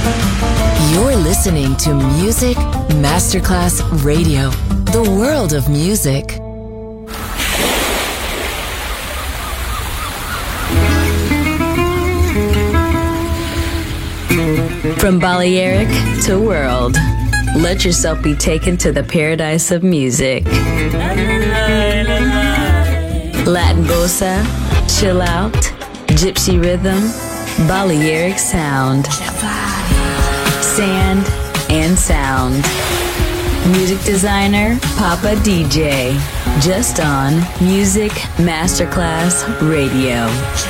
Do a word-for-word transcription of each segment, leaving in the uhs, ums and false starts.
You're listening to Music Masterclass Radio, the world of music. From Balearic to world, let yourself be taken to the paradise of music. Latin bossa, chill out, gypsy rhythm, Balearic sound, sand and sound. Music designer, Papa D J, just on Music Masterclass Radio.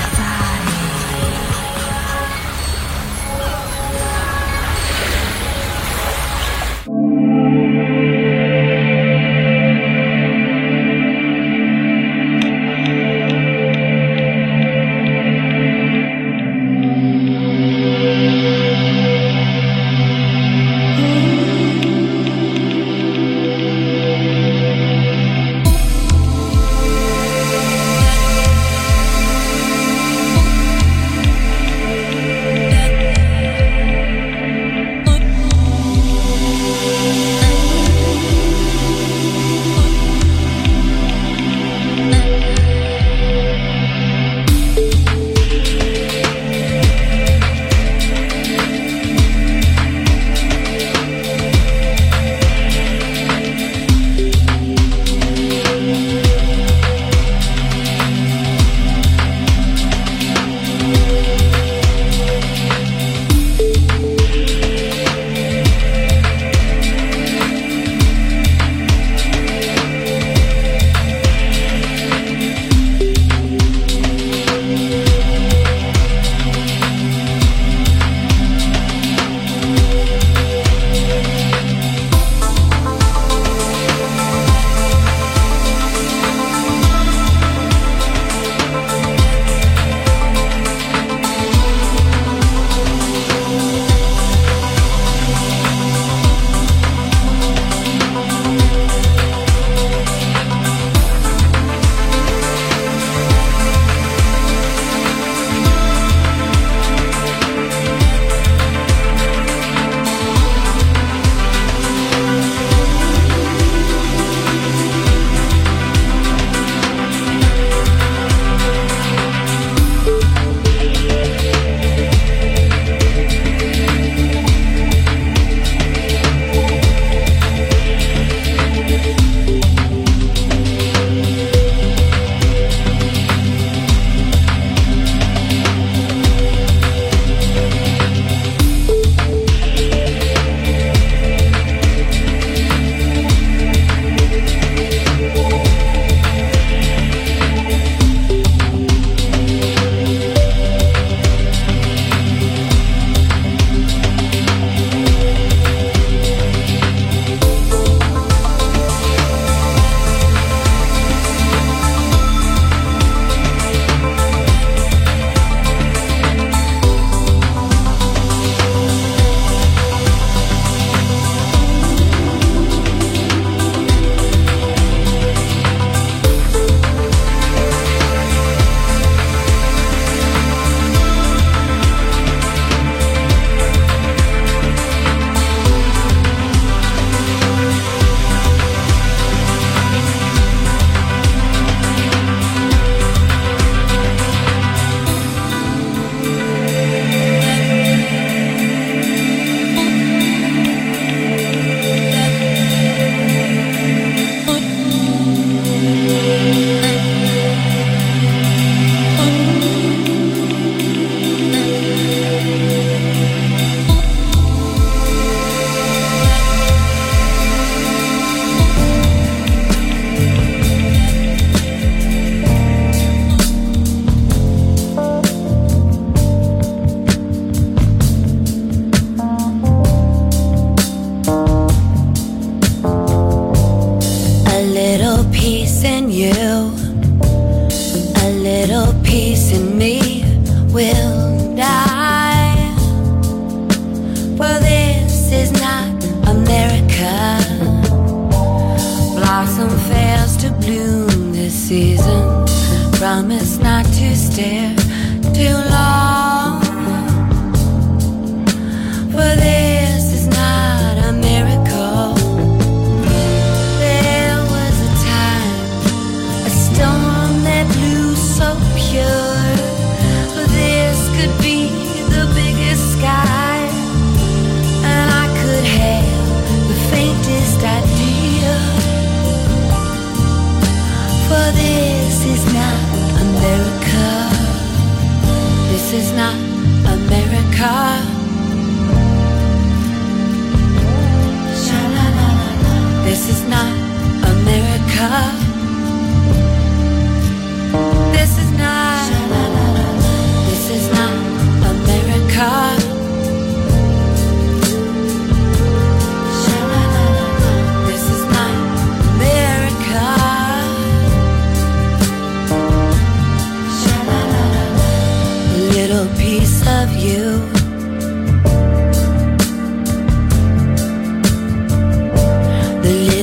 Promise not to stare too long, for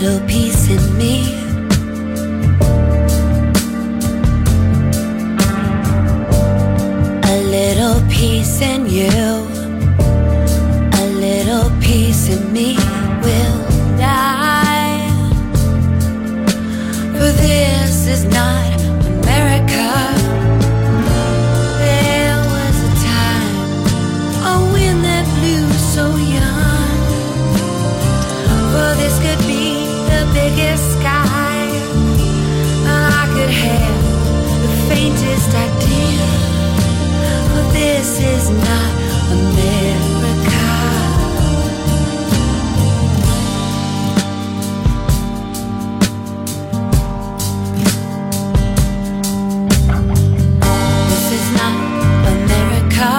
little peace in me. A little peace in you. A little peace in me will die. For this is not America. There was a time, a wind that blew so young. For this could be the biggest sky, and I could have the faintest idea. But this is not America. This is not America.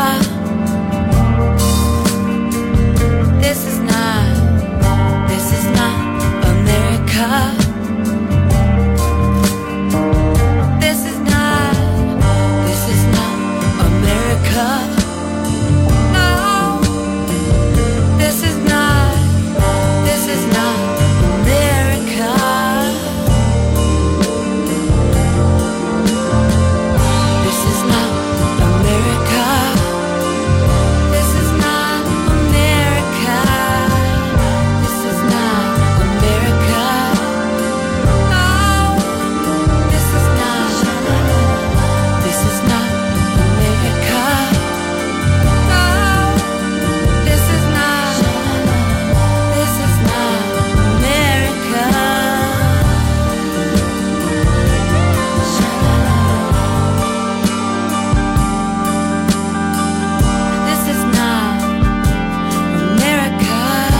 This is not, this is not America. This is not, this is not America. No, this is not, this is not America. This is not America. This is not America. This is not America. No, this is not, this is not America. No, this is not, this is not America. This is not America.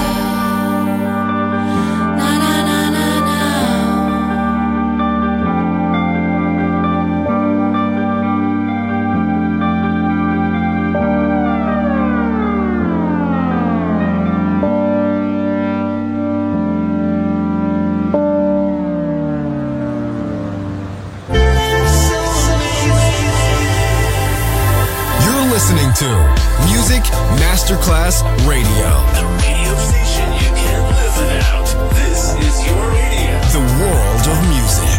Na na na na na. You're listening to Music Masterclass Radio. The radio station you can't live without. This is your radio. The world of music.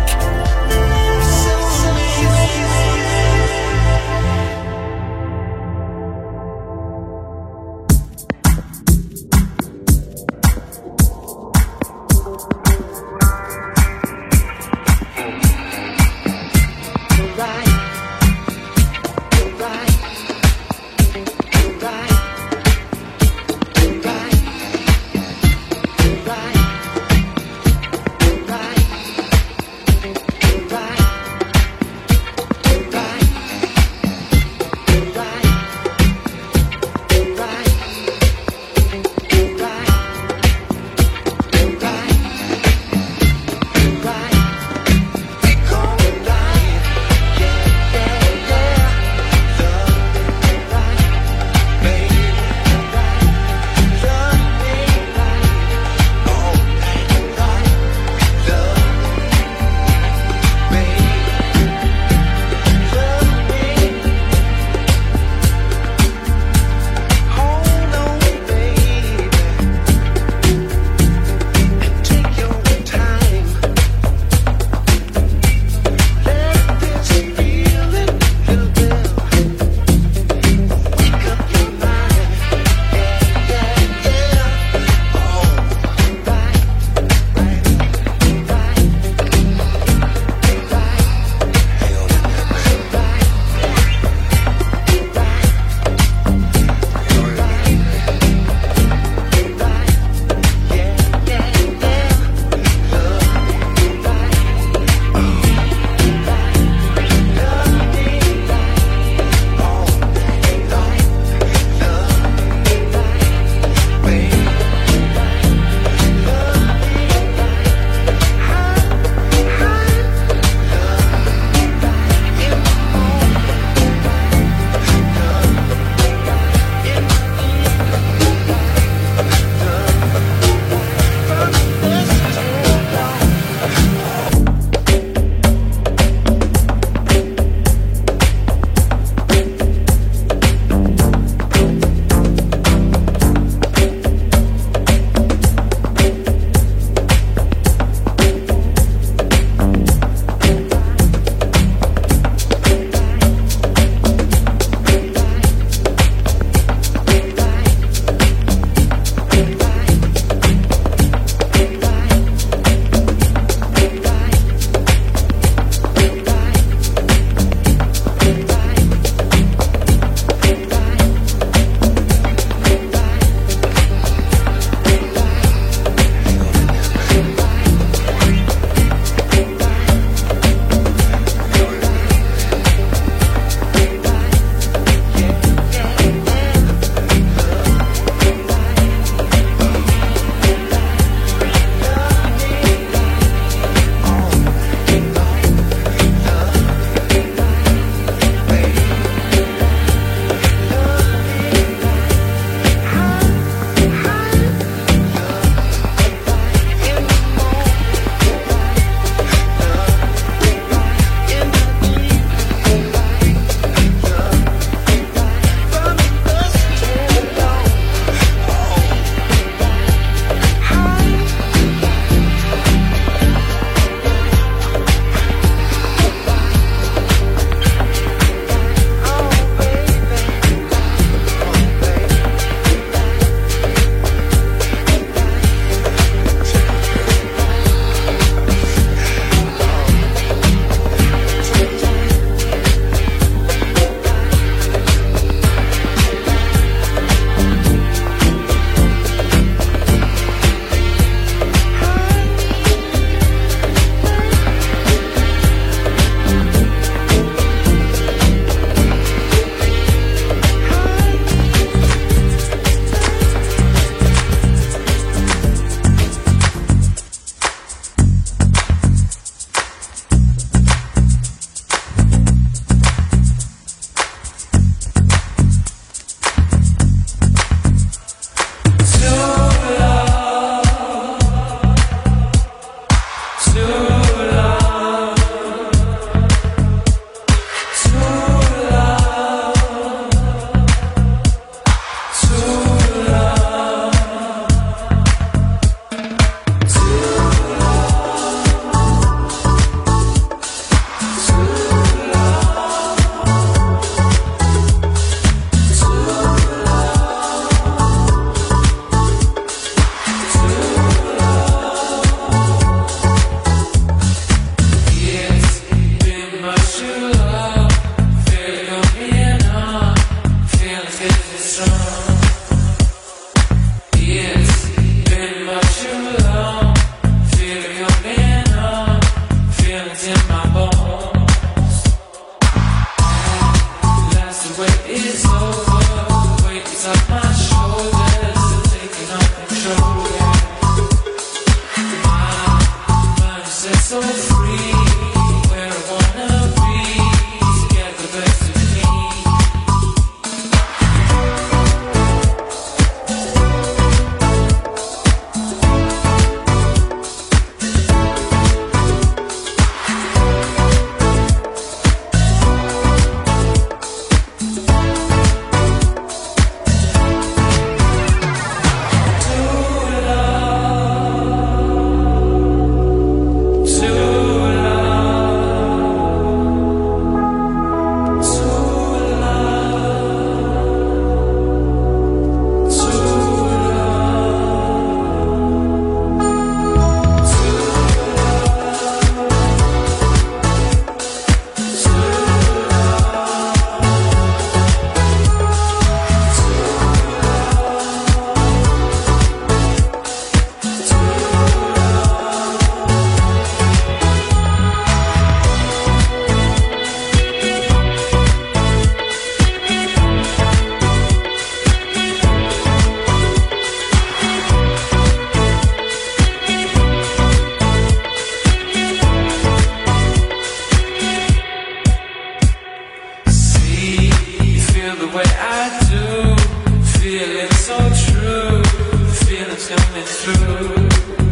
coming through.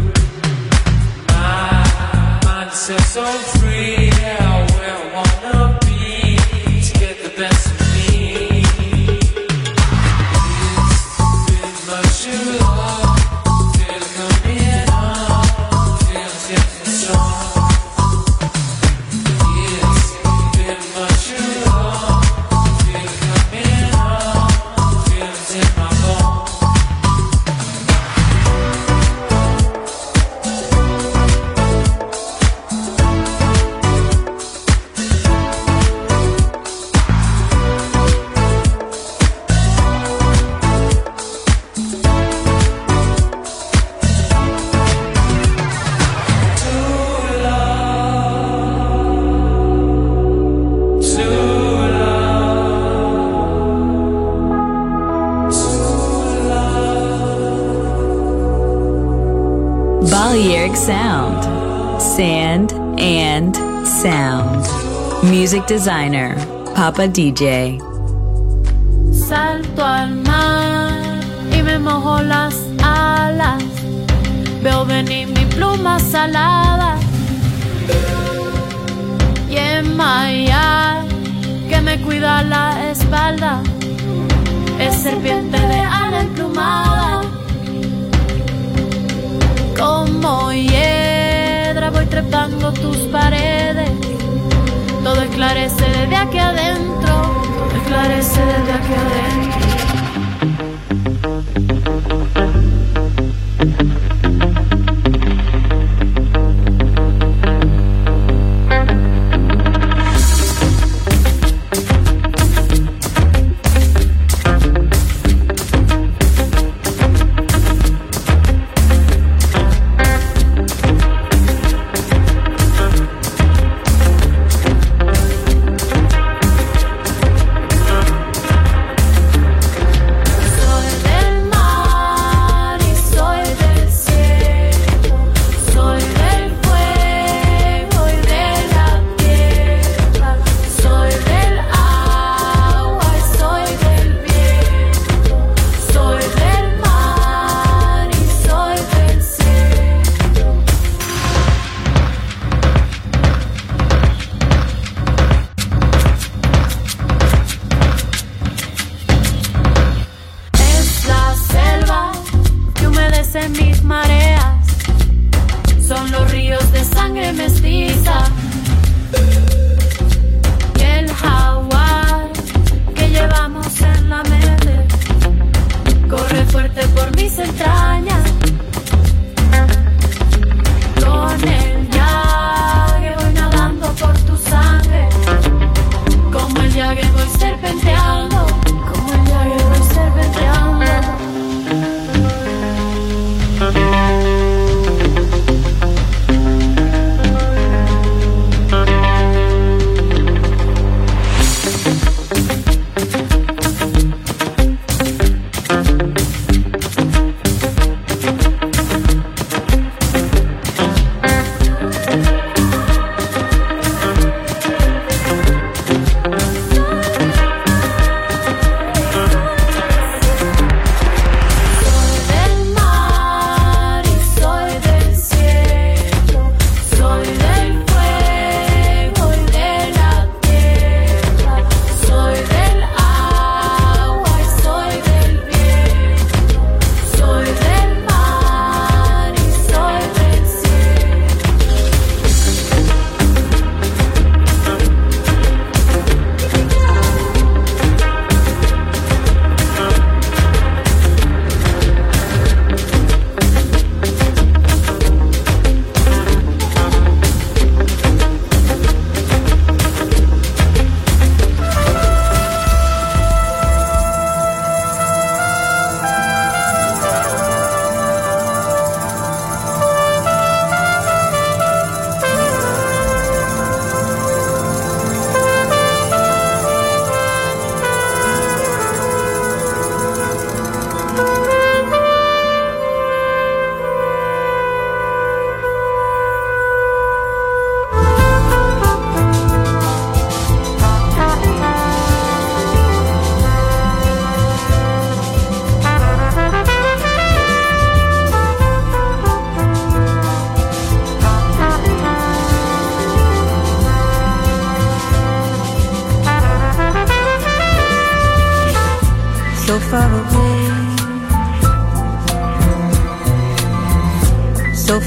My mind says so free, yeah, where I wanna be to get the best of me. It's been much too long, feel it coming on, feel it getting strong. It's been much too long, feel it coming on, feel it in my bones. Balearic Sound. Sand and Sound. Music designer, Papa D J. Salto al mar y me mojo las alas. Veo venir mi pluma salada. Y en Maya, que me cuida la espalda, es serpiente de ala emplumada. Como hiedra voy trepando tus paredes. Todo esclarece desde aquí adentro. Todo esclarece desde aquí adentro. Mis mareas son los ríos de sangre mestiza y el jaguar que llevamos en la mente corre fuerte por mis entrañas. Con el llague voy nadando por tu sangre, como el llague voy serpenteando, como el llague voy serpenteando.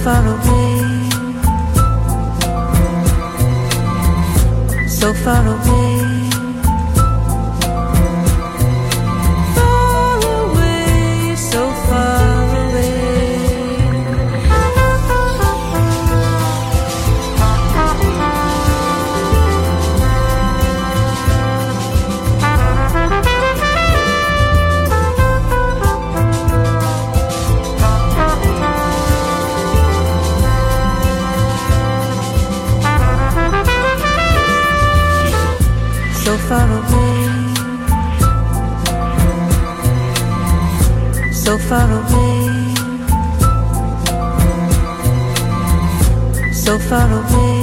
far away, so far away. So far away, so far away, so far away.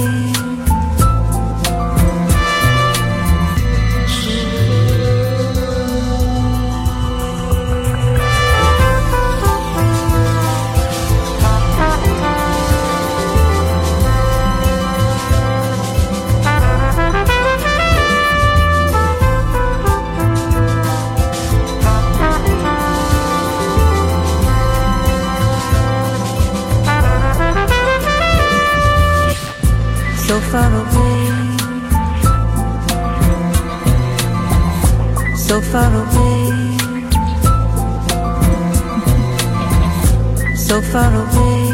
So far away, so far away, so far away.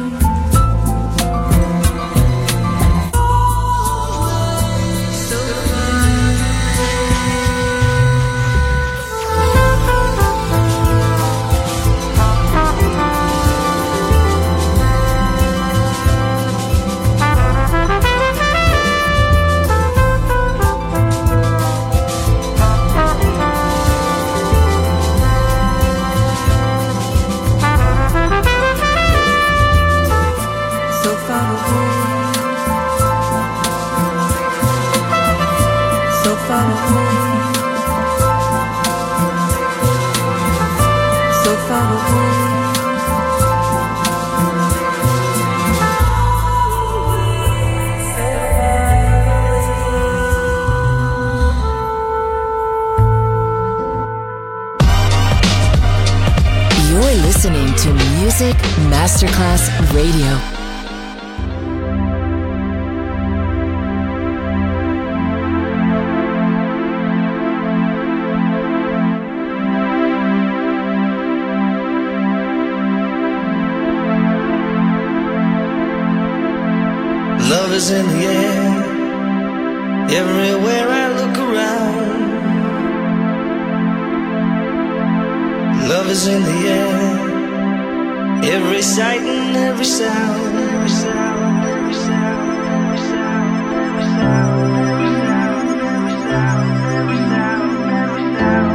Listening to Music Masterclass Radio. Love is in the air, everywhere I look around. Love is in the air, every sight and every sound, every sound, every sound, every sound, every sound, every sound, every sound, every sound, every sound,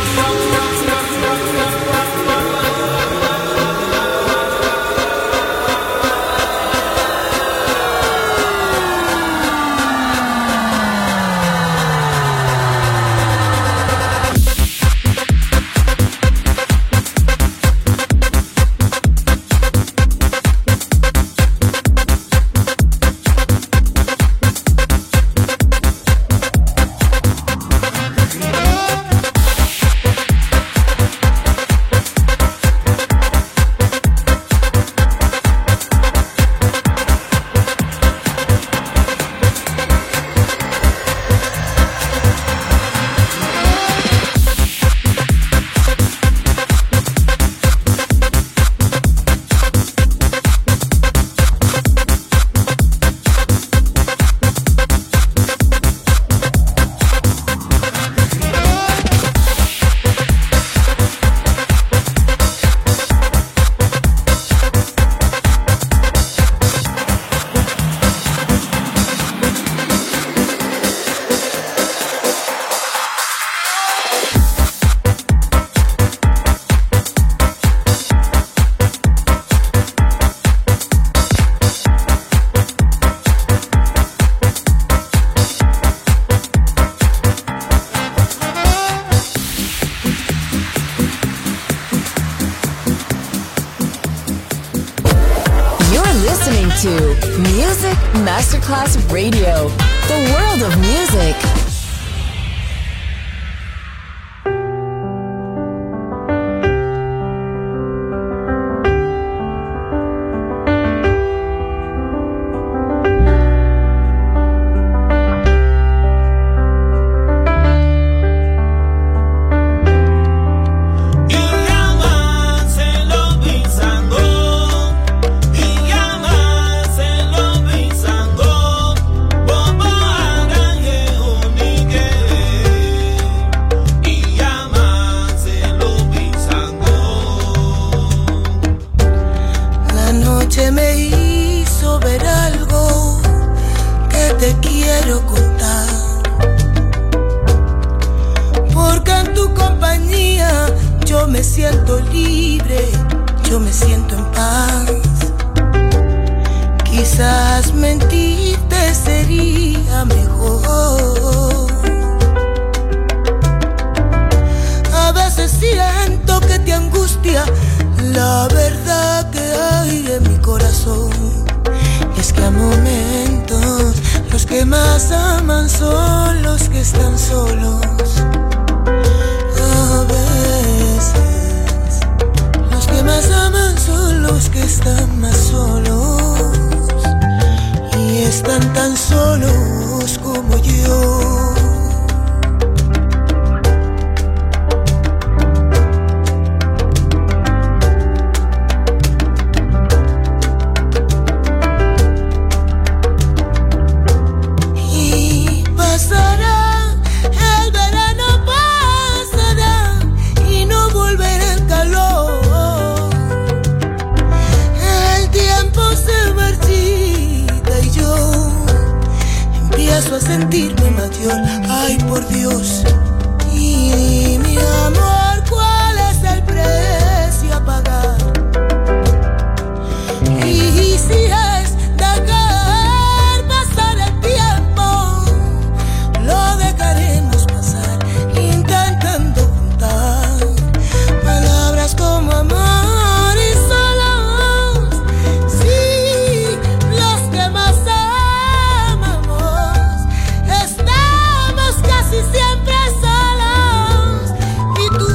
to Music Masterclass Radio, the world of music. Siempre solos y tú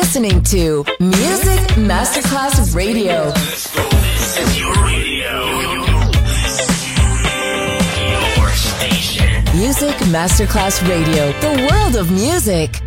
listening to Music Masterclass Radio. Let's go. This is your radio. Your station. Music Masterclass Radio. The world of music.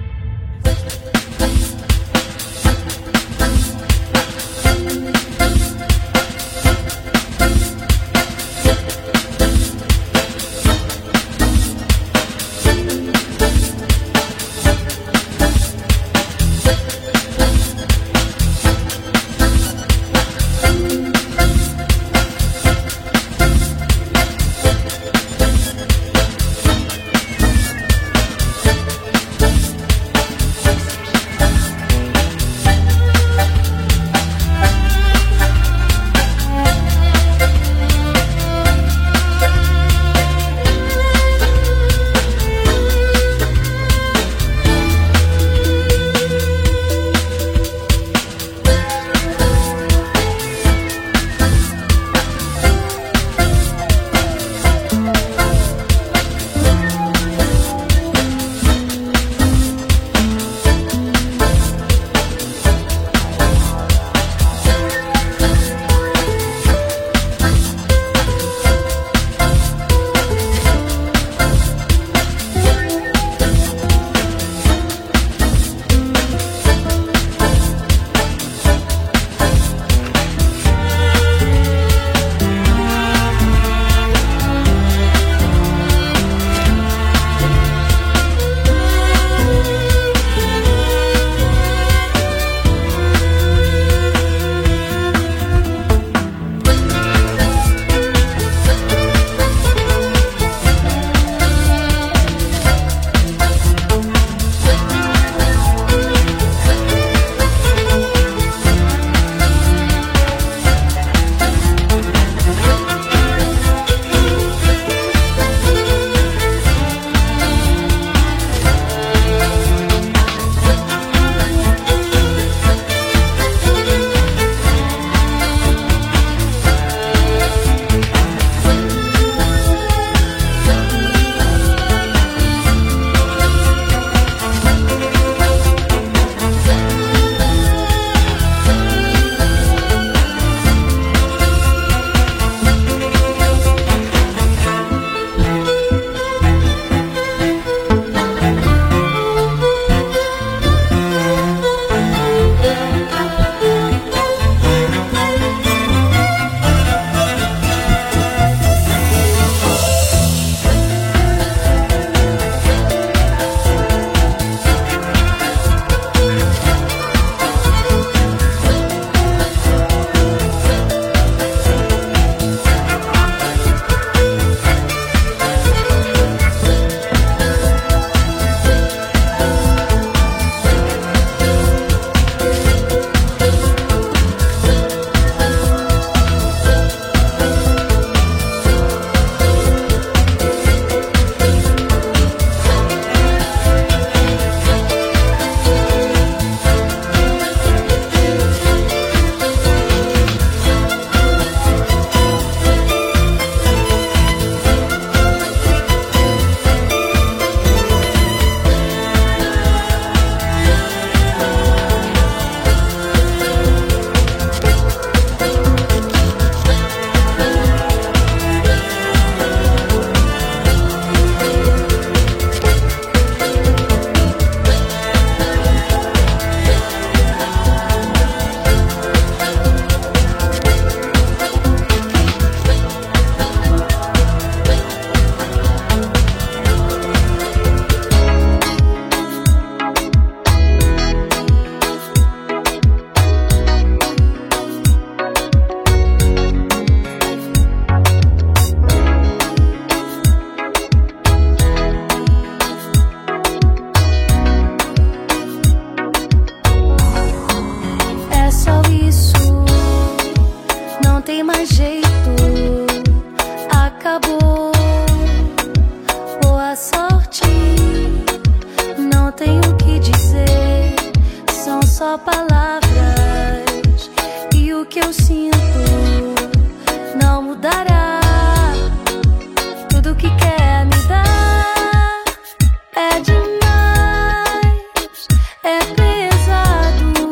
É demais, é pesado.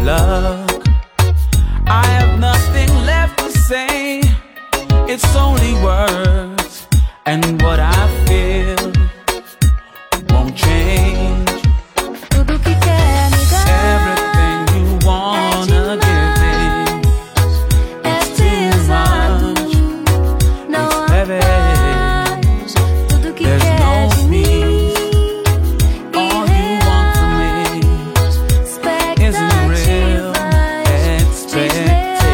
luck. I have nothing left to say. It's only words, and what I feel won't change. Tudo que quer me dar, everything you wanna give me, it's too much, it's heavy. tudo que There's quer no de mim. peace. All you want from me isn't real expectations.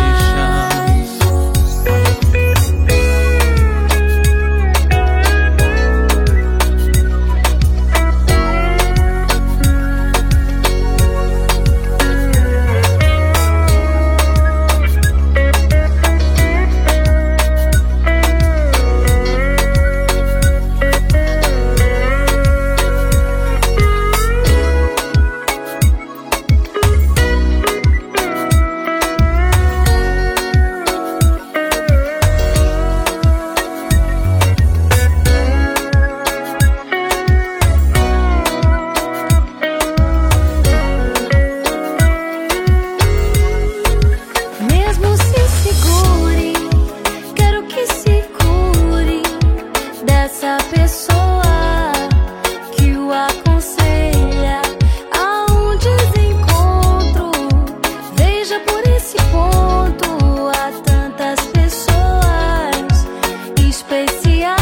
Mesmo se segure, quero que se cure dessa pessoa que o aconselha a um desencontro. Veja por esse ponto, há tantas pessoas especiais.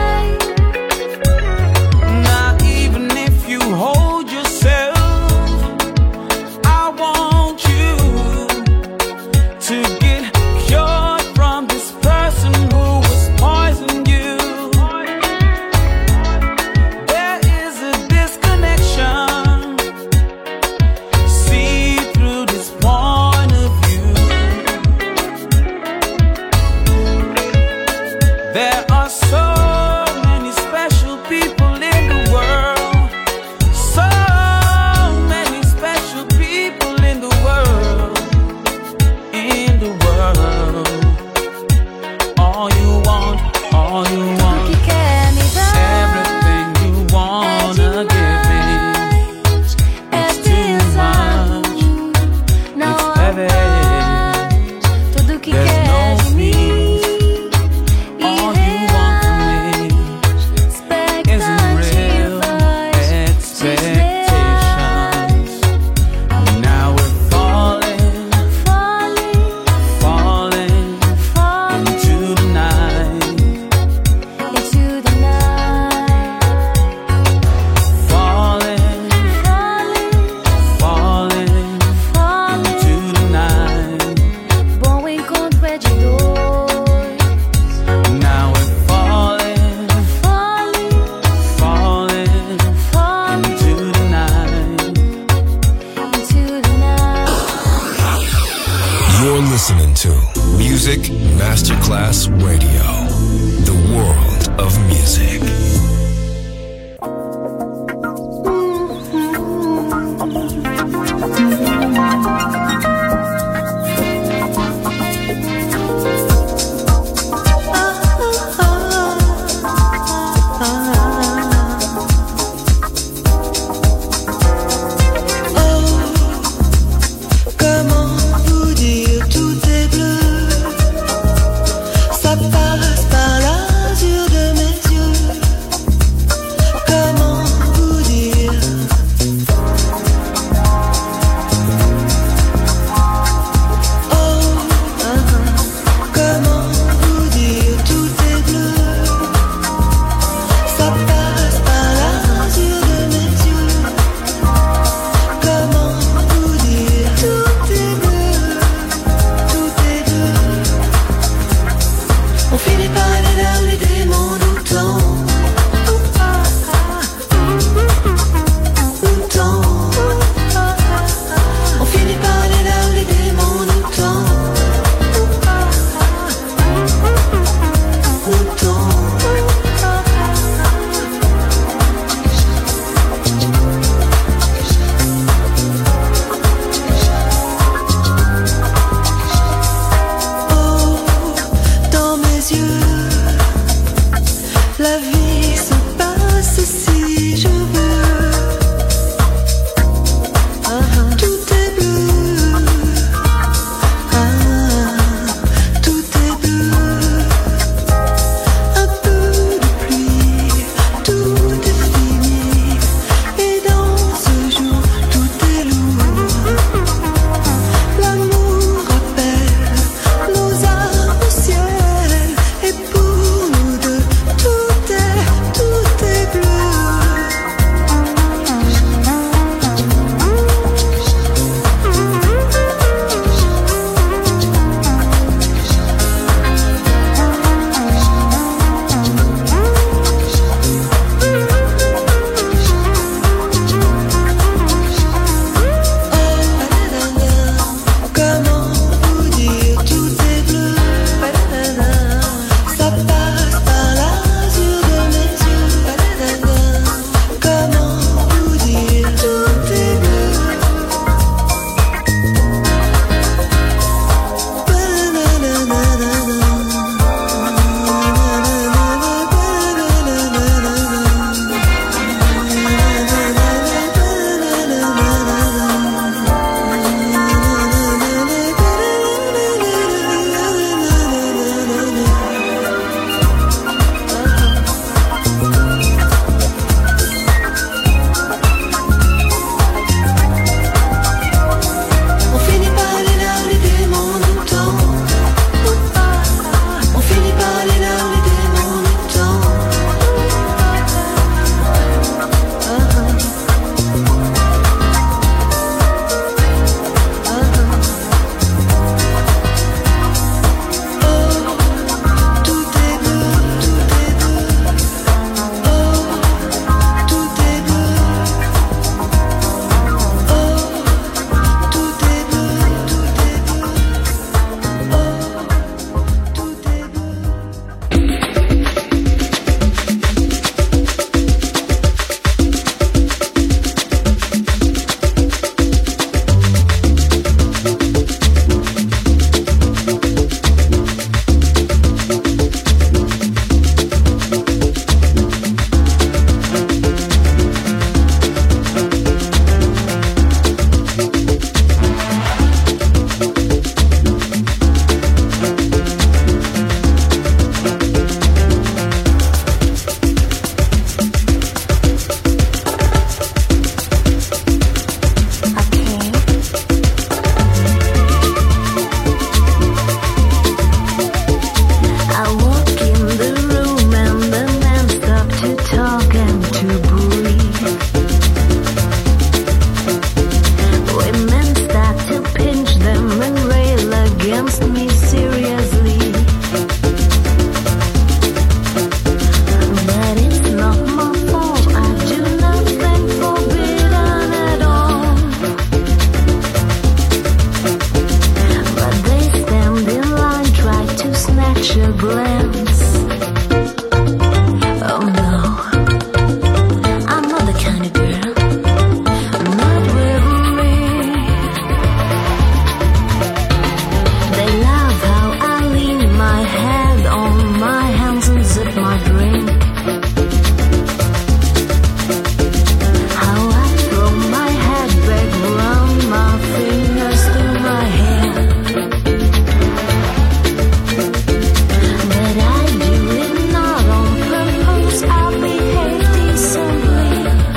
Not even if you hold yourself, I want you to get cured from this person who was poisoning you. There is a disconnection. See through this point of view. There are so many special people in the world. So many special people in the world. In the world. All you want, all you Tudo want, que quer me dar everything you wanna give me, é it's too much, não it's há heavy. mais. Tudo que There's quer no de mim, All you want from me isn't real expectations. Now we're falling, falling, falling falling into the night. into the night. Falling, Falling, falling falling. into the night. Bom encontro é de dois. Now we're falling, Falling, falling falling into the night. into the night. You're listening to Music Masterclass Radio, the world of music. Comment vous dire tout est bleu? Ça passe par l'azur de mes yeux. blends. Oh no, I'm not the kind of girl, not with me. They love how I lean my head on my hands and zip my drink. How I throw my head back round my fingers through my hair. But I do it not on purpose, I behave decently.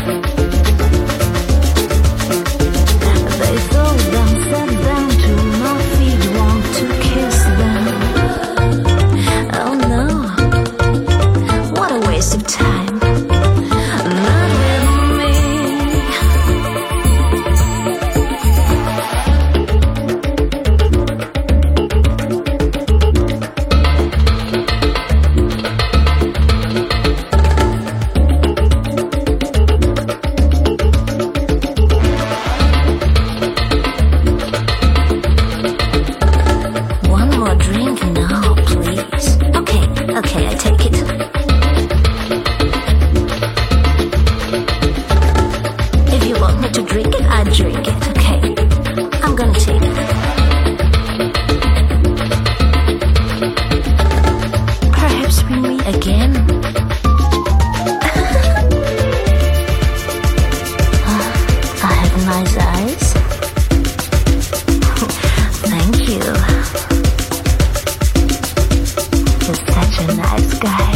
They throw them, set them to my feet, want to kiss them. Oh no, what a waste of time. Not with me. One more drink now, please. Okay, okay, I take it. If you want me to drink it, I drink it. Okay, I'm gonna take it. Perhaps we meet again. I have nice eyes. Thank you. You're such a nice guy.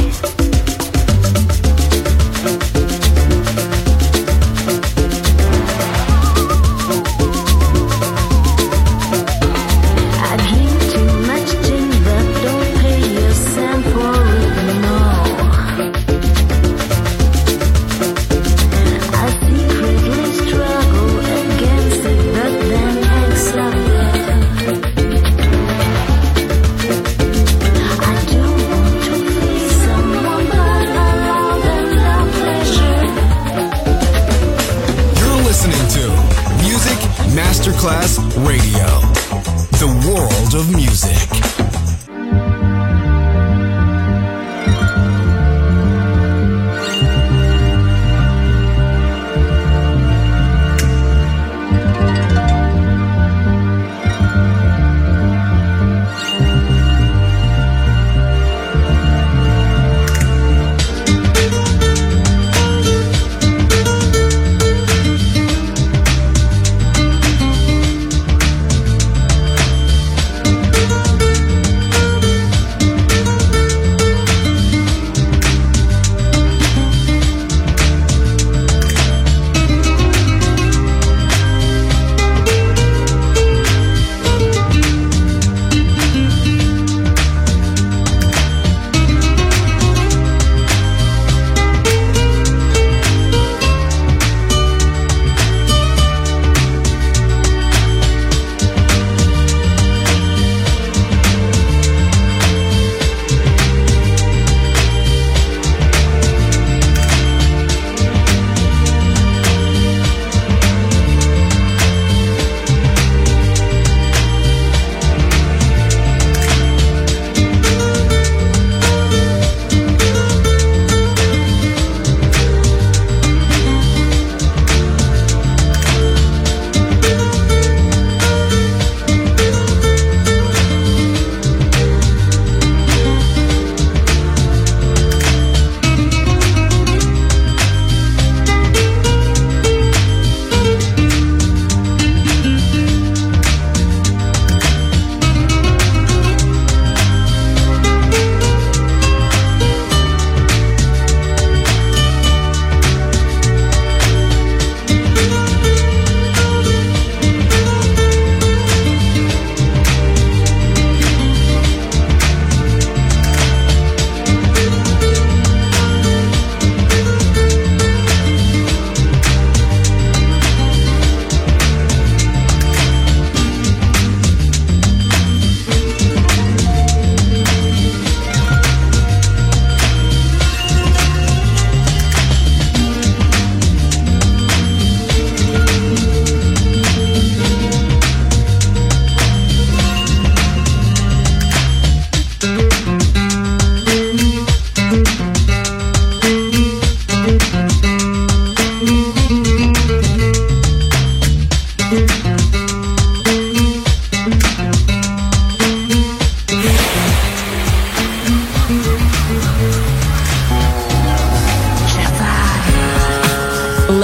I drink too much gin, but don't pay a cent for it, no. I secretly struggle against it, but then accept it. I don't want to please someone, but allow them the pleasure. You're listening to Music Masterclass Radio, the world of music.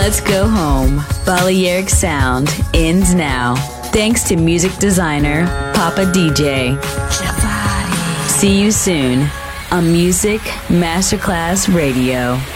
Let's go home. Balearic Sound ends now. Thanks to music designer Papa D J. See you soon on Music Masterclass Radio.